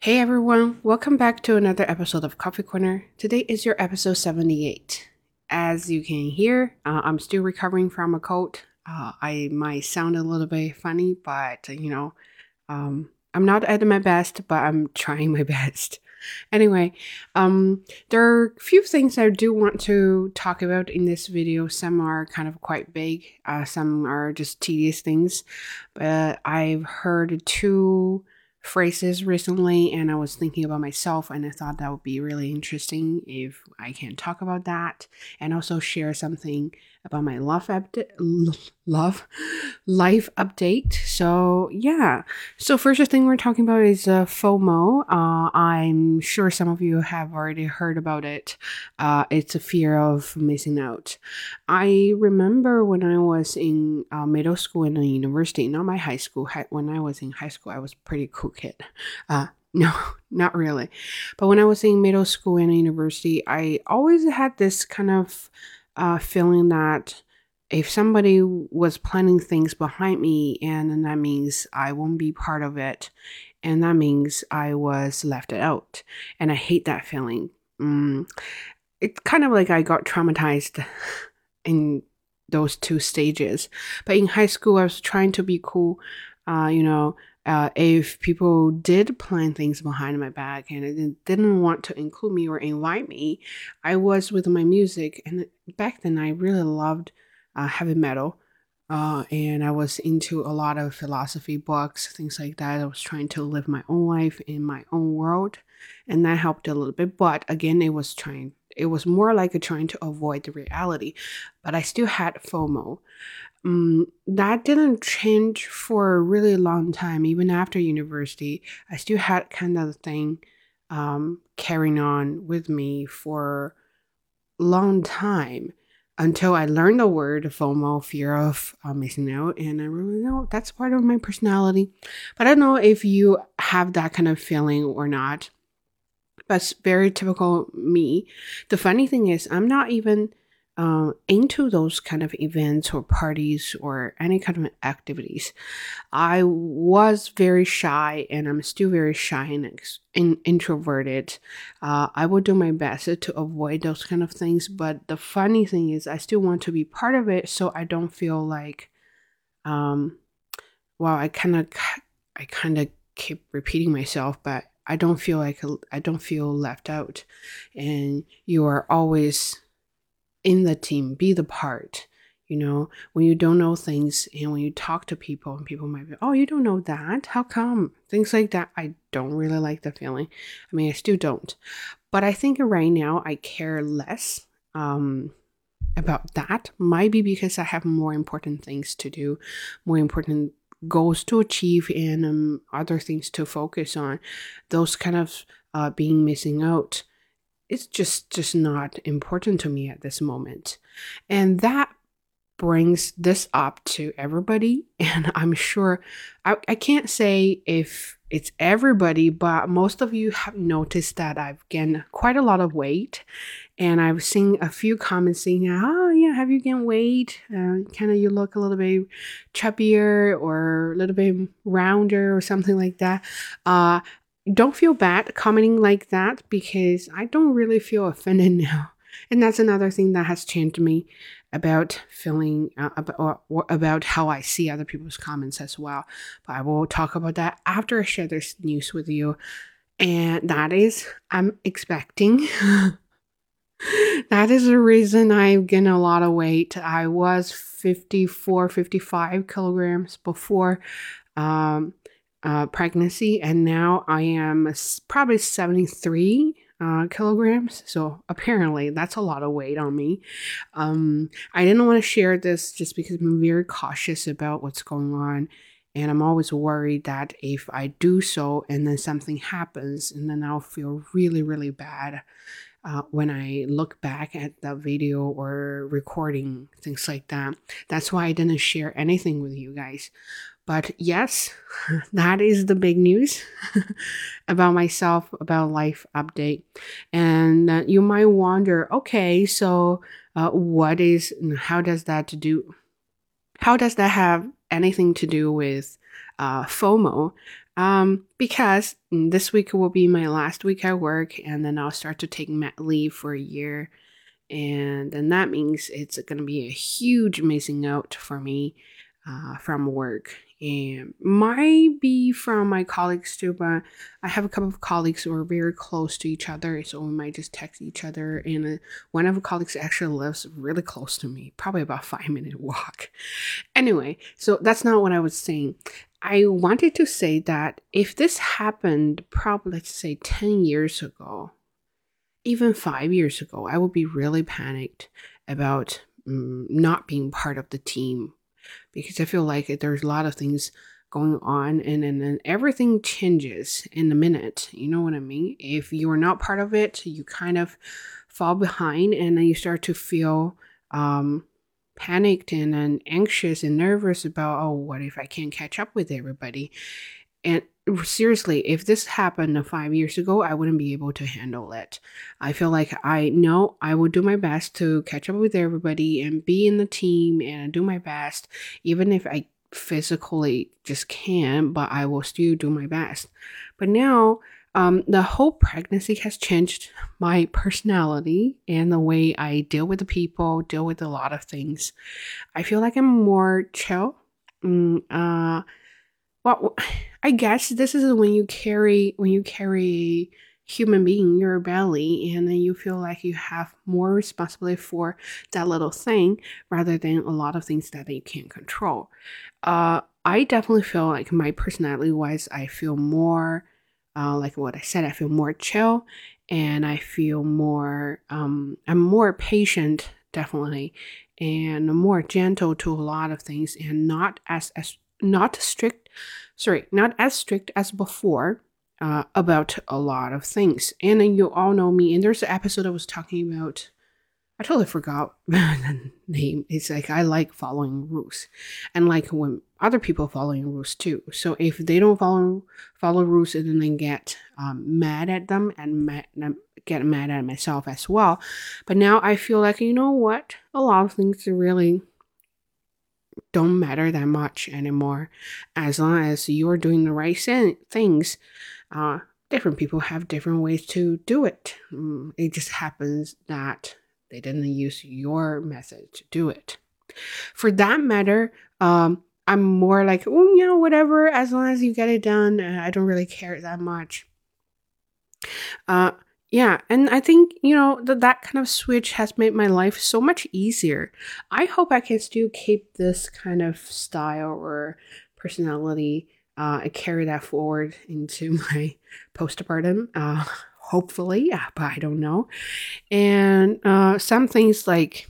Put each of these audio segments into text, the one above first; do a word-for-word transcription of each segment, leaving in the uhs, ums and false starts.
Hey everyone, welcome back to another episode of Coffee Corner. Today is your episode seventy-eight. As you can hear, uh, I'm still recovering from a cold. Uh, I might sound a little bit funny, but you know, um, I'm not at my best, but I'm trying my best. Anyway, um, there are a few things I do want to talk about in this video. Some are kind of quite big, uh, some are just tedious things, but I've heard two phrases recently and I was thinking about myself and I thought that would be really interesting if I can talk about that and also share something about my love update love life update. So yeah. So first thing we're talking about is uh, FOMO. Uh, I'm sure some of you have already heard about it. Uh, it's a fear of missing out. I remember when I was in uh, middle school and university, not my high school. Hi- when I was in high school, I was a pretty cool kid. Uh, no, not really. But when I was in middle school and university, I always had this kind of uh, feeling that if somebody was planning things behind me, and then that means I won't be part of it, and that means I was left out. And I hate that feeling. Mm, it's kind of like I got traumatized in those two stages. But in high school, I was trying to be cool. Uh, you know, uh, if people did plan things behind my back and it didn't want to include me or invite me, I was with my music. And back then, I really loved uh, heavy metal. Uh, and I was into a lot of philosophy books, things like that. I was trying to live my own life in my own world, and that helped a little bit. But again, it was trying. It was more like a trying to avoid the reality, but I still had FOMO. Um, that didn't change for a really long time. Even after university, I still had kind of the thing um, carrying on with me for a long time until I learned the word FOMO, fear of uh, missing out, and I really know that's part of my personality. But I don't know if you have that kind of feeling or not. That's very typical me. The funny thing is, I'm not even uh, into those kind of events or parties or any kind of activities. I was very shy, and I'm still very shy and ex- in, introverted. Uh, I will do my best to avoid those kind of things. But the funny thing is, I still want to be part of it, so I don't feel like, um, well, I kind of, I kind of keep repeating myself, but I don't feel like I don't feel left out. And you are always in the team, be the part. You know, when you don't know things and when you talk to people and people might be, oh, you don't know that? How come? Things like that. I don't really like the feeling. I mean, I still don't. But I think right now I care less um, about that. Might be because I have more important things to do, more important goals to achieve, and um, other things to focus on. Those kind of uh, being missing out, it's just just not important to me at this moment. And that brings this up to everybody. And I'm sure I, I can't say if it's everybody, but most of you have noticed that I've gained quite a lot of weight. And I've seen a few comments saying, oh, yeah, have you gained weight? Uh, kind of you look a little bit chubbier or a little bit rounder or something like that. Uh, don't feel bad commenting like that because I don't really feel offended now. And that's another thing that has changed me about feeling uh, about, or, or about how I see other people's comments as well. But I will talk about that after I share this news with you. And that is, I'm expecting. That is the reason I've gained a lot of weight. I was fifty-four, fifty-five kilograms before um, uh, pregnancy, and now I am probably seventy-three uh, kilograms. So apparently that's a lot of weight on me. Um, I didn't want to share this just because I'm very cautious about what's going on. And I'm always worried that if I do so and then something happens, and then I'll feel really, really bad uh, when I look back at the video or recording, things like that. That's why I didn't share anything with you guys. But yes, that is the big news about myself, about life update. And uh, you might wonder, okay, so uh, what is, how does that do, how does that have anything to do with uh, FOMO? Um, because this week will be my last week at work, and then I'll start to take mat leave for a year. And then that means it's going to be a huge missing out for me uh, from work. And might be from my colleagues too, but I have a couple of colleagues who are very close to each other, so we might just text each other. And uh, one of the colleagues actually lives really close to me, probably about five minute walk. Anyway, so that's not what I was saying. I wanted to say that if this happened probably, let's say, ten years ago, even five years ago, I would be really panicked about um, not being part of the team, because I feel like there's a lot of things going on, and then and everything changes in a minute. You know what I mean? If you're not part of it, you kind of fall behind, and then you start to feel um, panicked and, and anxious and nervous about, oh, what if I can't catch up with everybody? And seriously, if this happened five years ago, I wouldn't be able to handle it. I feel like I know I will do my best to catch up with everybody and be in the team and do my best, even if I physically just can't, but I will still do my best. But now, um, the whole pregnancy has changed my personality and the way I deal with the people, deal with a lot of things. I feel like I'm more chill. Mm, uh, well, I guess this is when you carry when you carry a human being in your belly, and then you feel like you have more responsibility for that little thing rather than a lot of things that you can't control. Uh, I definitely feel like my personality wise, I feel more uh, like what I said. I feel more chill, and I feel more. Um, I'm more patient, definitely, and more gentle to a lot of things, and not as as not strict, sorry, not as strict as before uh, about a lot of things. And then you all know me, and there's an episode I was talking about, I totally forgot the name. It's like I like following rules, and like when other people following rules too. So if they don't follow follow rules, and then I get um, mad at them and mad, get mad at myself as well. But now I feel like, you know what, a lot of things are really don't matter that much anymore, as long as you're doing the right things. Uh, different people have different ways to do it. Mm, it just happens that they didn't use your method to do it. For that matter, um, I'm more like, oh, you know, whatever, as long as you get it done, uh, I don't really care that much. Uh, yeah, and I think, you know, that that kind of switch has made my life so much easier. I hope I can still keep this kind of style or personality uh, and carry that forward into my postpartum. Uh, hopefully, yeah, but I don't know. And uh, some things like,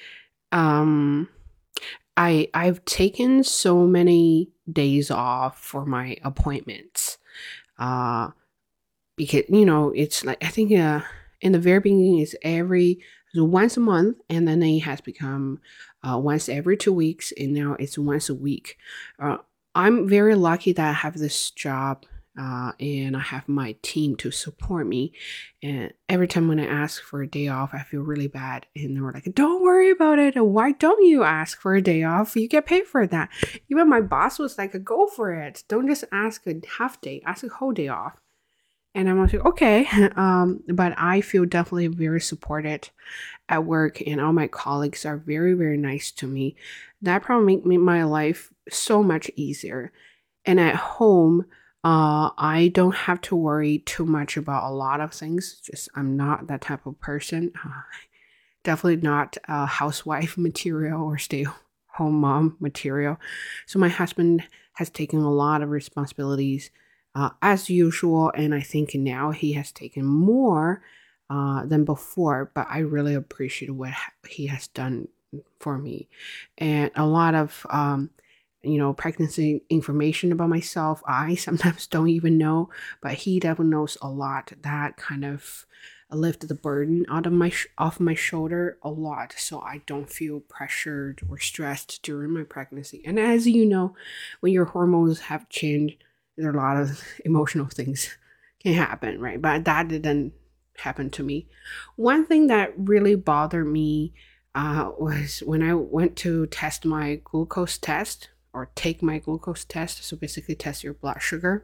um, I I've taken so many days off for my appointments. Uh, because, you know, it's like, I think uh, in the very beginning it's every so once a month, and then it has become uh, once every two weeks, and now it's once a week. Uh, I'm very lucky that I have this job, uh, and I have my team to support me. And every time when I ask for a day off, I feel really bad. And they're like, don't worry about it. Why don't you ask for a day off? You get paid for that. Even my boss was like, go for it. Don't just ask a half day, ask a whole day off. And I'm like, okay, um, but I feel definitely very supported at work, and all my colleagues are very, very nice to me. That probably made my life so much easier. And at home, uh, I don't have to worry too much about a lot of things. Just I'm not that type of person. Uh, definitely not a housewife material or stay-home mom material. So my husband has taken a lot of responsibilities Uh, as usual, and I think now he has taken more uh, than before, but I really appreciate what he has done for me. And a lot of, um, you know, pregnancy information about myself, I sometimes don't even know, but he definitely knows a lot. That kind of lifted the burden out of my sh- off my shoulder a lot, so I don't feel pressured or stressed during my pregnancy. And as you know, when your hormones have changed, there are a lot of emotional things can happen, right? But that didn't happen to me. One thing that really bothered me uh, was when I went to test my glucose test or take my glucose test. So basically test your blood sugar.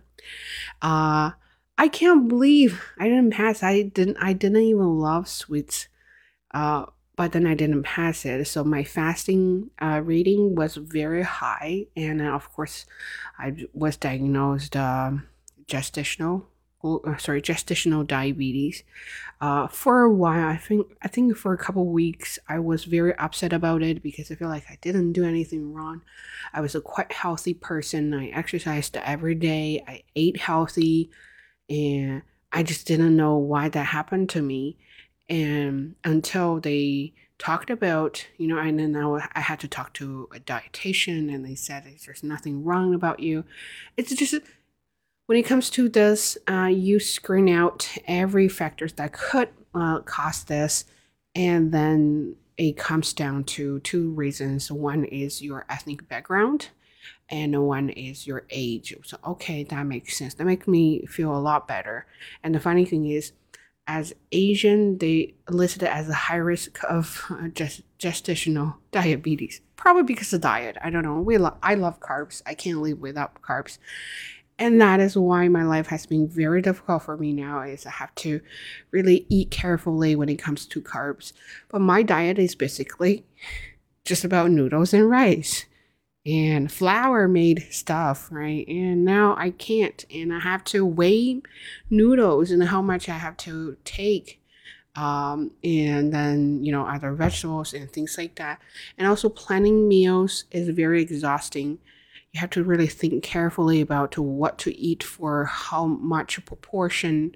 Uh, I can't believe I didn't pass. I didn't I didn't even love sweets. Uh, but then I didn't pass it. So my fasting uh, reading was very high. And uh, of course, I was diagnosed um gestational, uh, sorry, gestational diabetes. Uh, for a while, I think I think for a couple weeks, I was very upset about it because I feel like I didn't do anything wrong. I was a quite healthy person. I exercised every day. I ate healthy, and I just didn't know why that happened to me. And until they talked about, you know, and then I, I had to talk to a dietitian, and they said there's nothing wrong about you. It's just when it comes to this, uh, you screen out every factors that could uh, cause this, and then it comes down to two reasons. One is your ethnic background, and one is your age. So, okay, that makes sense. That makes me feel a lot better. And the funny thing is, as Asian, they listed it as a high risk of uh, gest- gestational diabetes. Probably because of diet. I don't know. We lo- I love carbs. I can't live without carbs. And that is why my life has been very difficult for me now, is I have to really eat carefully when it comes to carbs. But my diet is basically just about noodles and rice and flour made stuff, right? And now I can't, and I have to weigh noodles and how much I have to take, um, and then, you know, other vegetables and things like that. And also planning meals is very exhausting. You have to really think carefully about what to eat for how much proportion.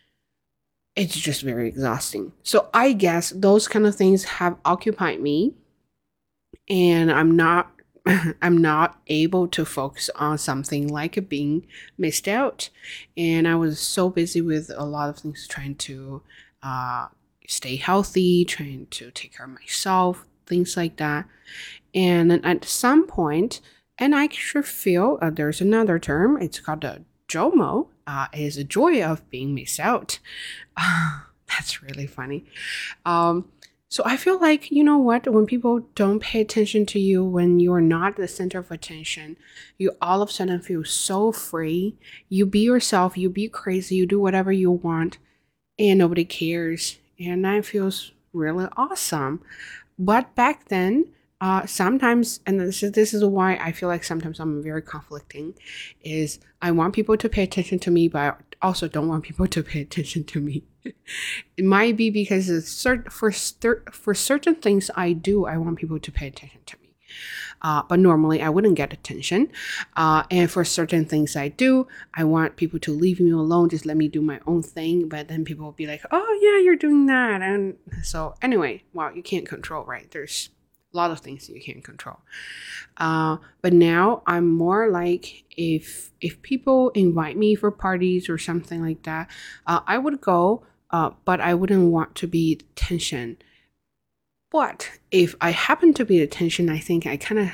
It's just very exhausting. So I guess those kind of things have occupied me, and I'm not I'm not able to focus on something like being missed out. And I was so busy with a lot of things, trying to uh, stay healthy, trying to take care of myself, things like that. And then at some point, and I sure feel uh, there's another term, it's called a JOMO, uh, is a joy of being missed out. That's really funny. Um, So I feel like, you know what, when people don't pay attention to you, when you're not the center of attention, you all of a sudden feel so free. You be yourself, you be crazy, you do whatever you want, and nobody cares. And that feels really awesome. But back then, uh, sometimes, and this is, this is why I feel like sometimes I'm very conflicting, is I want people to pay attention to me, but I also don't want people to pay attention to me. It might be because it's cert- for, cer- for certain things I do, I want people to pay attention to me. Uh, but normally I wouldn't get attention. Uh, and for certain things I do, I want people to leave me alone, just let me do my own thing. But then people will be like, oh yeah, you're doing that. And so anyway, well, you can't control, right? There's a lot of things you can't control. Uh, but now I'm more like, if if people invite me for parties or something like that, uh, I would go, uh, but I wouldn't want to be the attention. But if I happen to be the attention, I think I kind of,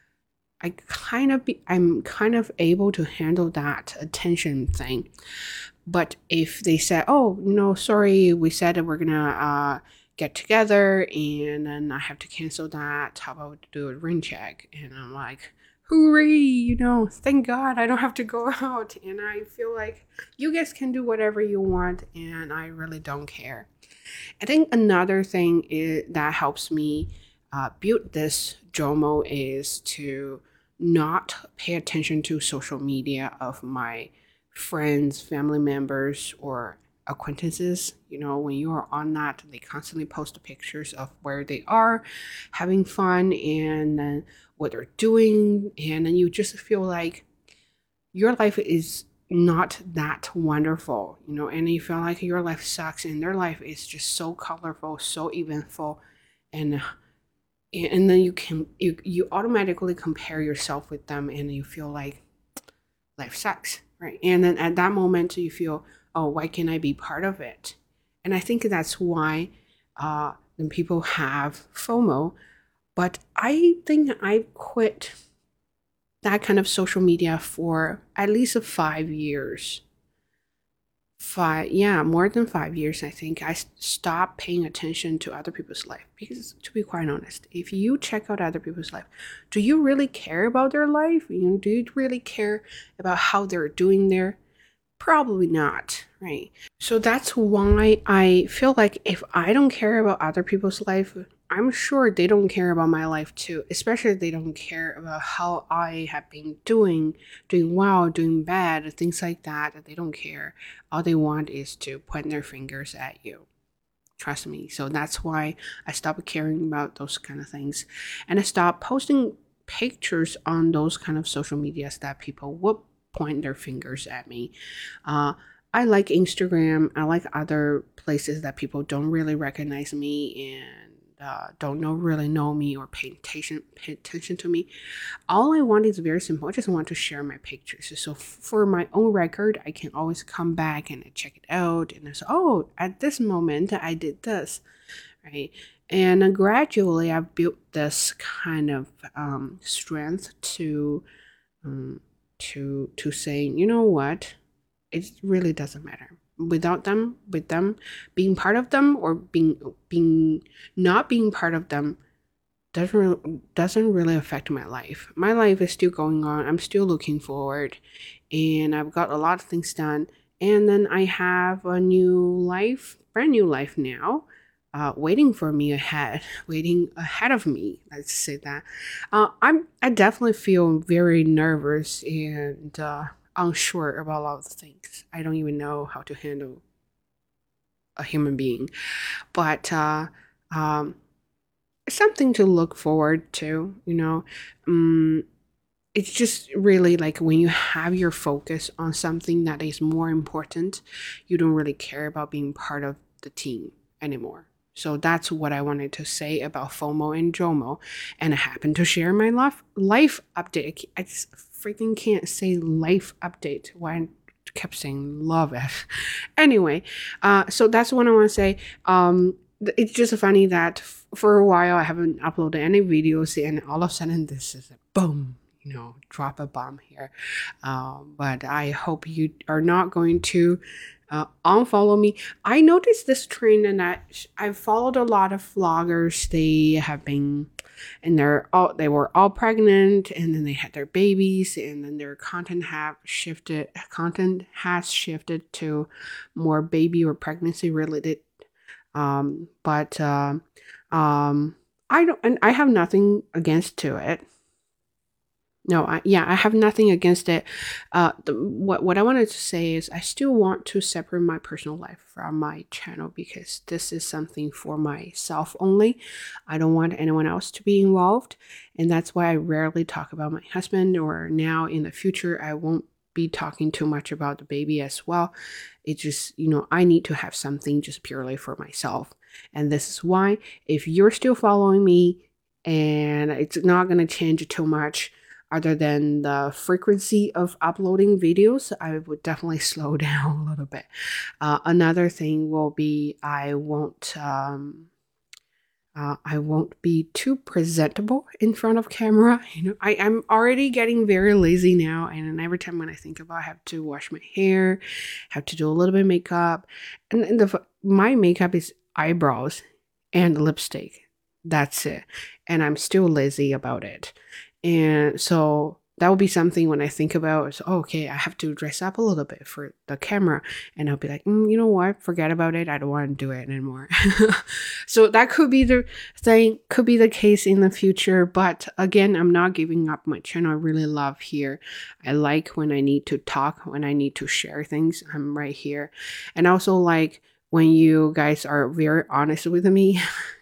I kind of be, I'm kind of able to handle that attention thing. But if they say, oh, no, sorry, we said that we're gonna uh, get together, and then I have to cancel that, how about we do a ring check? And I'm like, hooray, you know, thank God I don't have to go out. And I feel like you guys can do whatever you want, and I really don't care. I think another thing is, that helps me uh, build this JOMO, is to not pay attention to social media of my friends, family members, or acquaintances. You know, when you are on that, they constantly post pictures of where they are having fun, and then what they're doing. And then you just feel like your life is not that wonderful, you know, and you feel like your life sucks, and their life is just so colorful, so eventful. And and then you can you, you automatically compare yourself with them, and you feel like life sucks, right? And then at that moment you feel, oh, why can't I be part of it? And I think that's why uh then people have FOMO. But I think I quit that kind of social media for at least five years. five, yeah, more than five years, I think, I stopped paying attention to other people's life. Because to be quite honest, if you check out other people's life, do you really care about their life? You know, do you really care about how they're doing there? Probably not, right? So that's why I feel like if I don't care about other people's life, I'm sure they don't care about my life too, especially if they don't care about how I have been doing, doing well, doing bad, things like that. They don't care. All they want is to point their fingers at you. Trust me. So that's why I stopped caring about those kind of things. And I stopped posting pictures on those kind of social medias that people would point their fingers at me. Uh, I like Instagram. I like other places that people don't really recognize me and uh, don't know really know me or pay attention pay attention to me. All I want is very simple. I just want to share my pictures. So f- for my own record, I can always come back and check it out. And I say, oh, at this moment, I did this, right? And uh, gradually, I've built this kind of um, strength to um, to to saying, you know what, it really doesn't matter. Without them, with them, being part of them or being being not being part of them doesn't re- doesn't really affect my life. My life is still going on. I'm still looking forward, and I've got a lot of things done. And then I have a new life, brand new life now, uh, waiting for me ahead, waiting ahead of me. Let's say that. Uh, I'm I definitely feel very nervous and uh, unsure about a lot of things. I don't even know how to handle a human being, but uh, um, something to look forward to, you know. Um, it's just really like when you have your focus on something that is more important, you don't really care about being part of the team anymore. So that's what I wanted to say about FOMO and JOMO. And I happen to share my life, life update. I just freaking can't say life update when I kept saying love it. Anyway, uh, so that's what I want to say. Um, it's just funny that f- for a while I haven't uploaded any videos, and all of a sudden this is a boom, you know, drop a bomb here. Um, but I hope you are not going to uh, unfollow me. I noticed this trend, and I I've followed a lot of vloggers. They have been, and they're all they were all pregnant, and then they had their babies, and then their content have shifted. Content has shifted to more baby or pregnancy related um, but uh, um, I don't, and I have nothing against to it. No, I, yeah, I have nothing against it. Uh, the, what what I wanted to say is I still want to separate my personal life from my channel because this is something for myself only. I don't want anyone else to be involved, and that's why I rarely talk about my husband. Or now in the future, I won't be talking too much about the baby as well. It's just, you know, I need to have something just purely for myself, and this is why if you're still following me, and it's not gonna change too much other than the frequency of uploading videos, I would definitely slow down a little bit. Uh, another thing will be I won't um, uh, I won't be too presentable in front of camera. You know, I, I'm already getting very lazy now, and every time when I think about, I have to wash my hair, have to do a little bit of makeup, and, and the my makeup is eyebrows and lipstick. That's it, and I'm still lazy about it. And so that would be something when I think about, so, oh, okay, I have to dress up a little bit for the camera. And I'll be like, mm, you know what? Forget about it. I don't want to do it anymore. So that could be the thing, could be the case in the future. But again, I'm not giving up my channel. I really love here. I like when I need to talk, when I need to share things, I'm right here. And also like when you guys are very honest with me.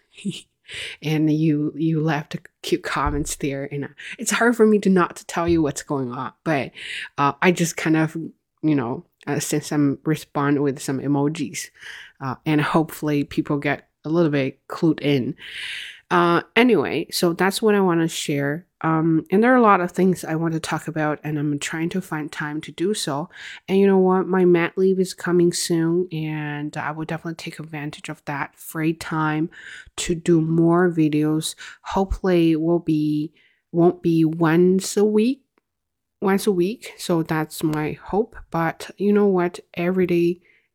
And you you left cute comments there, and uh, it's hard for me to not to tell you what's going on, but uh, I just kind of, you know, uh, send some respond with some emojis, uh, and hopefully people get a little bit clued in. Uh, anyway, so that's what I want to share. Um, and there are a lot of things I want to talk about, and I'm trying to find time to do so. And you know what? My mat leave is coming soon, and I will definitely take advantage of that free time to do more videos. Hopefully, it will be won't be once a week, once a week. So that's my hope. But you know what? Every day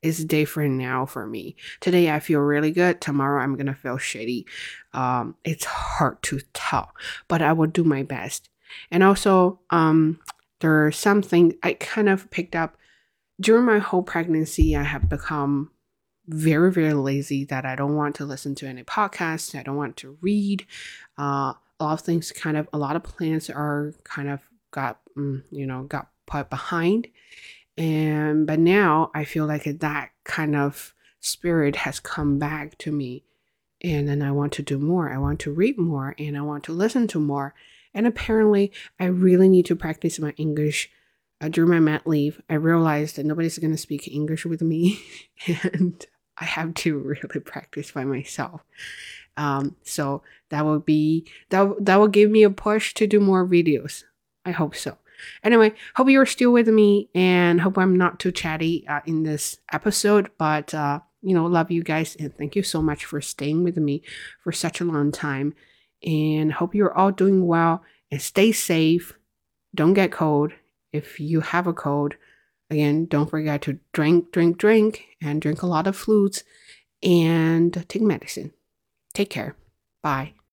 is different now for me. Today I feel really good. Tomorrow I'm gonna feel shitty. Um, it's hard to tell, but I will do my best. And also, um, there are some things I kind of picked up during my whole pregnancy. I have become very, very lazy that I don't want to listen to any podcasts. I don't want to read. Uh, a lot of things kind of, a lot of plans are kind of got, mm, you know, got put behind. And, but now I feel like that kind of spirit has come back to me. And then I want to do more. I want to read more and I want to listen to more. And apparently, I really need to practice my English. Uh, during my mat leave, I realized that nobody's going to speak English with me. And I have to really practice by myself. Um, so that will be, that, that will give me a push to do more videos. I hope so. Anyway, hope you're still with me and hope I'm not too chatty uh, in this episode. But, uh, you know, love you guys and thank you so much for staying with me for such a long time. And hope you're all doing well and stay safe. Don't get cold. If you have a cold, again, don't forget to drink, drink, drink, and drink a lot of fluids and take medicine. Take care. Bye.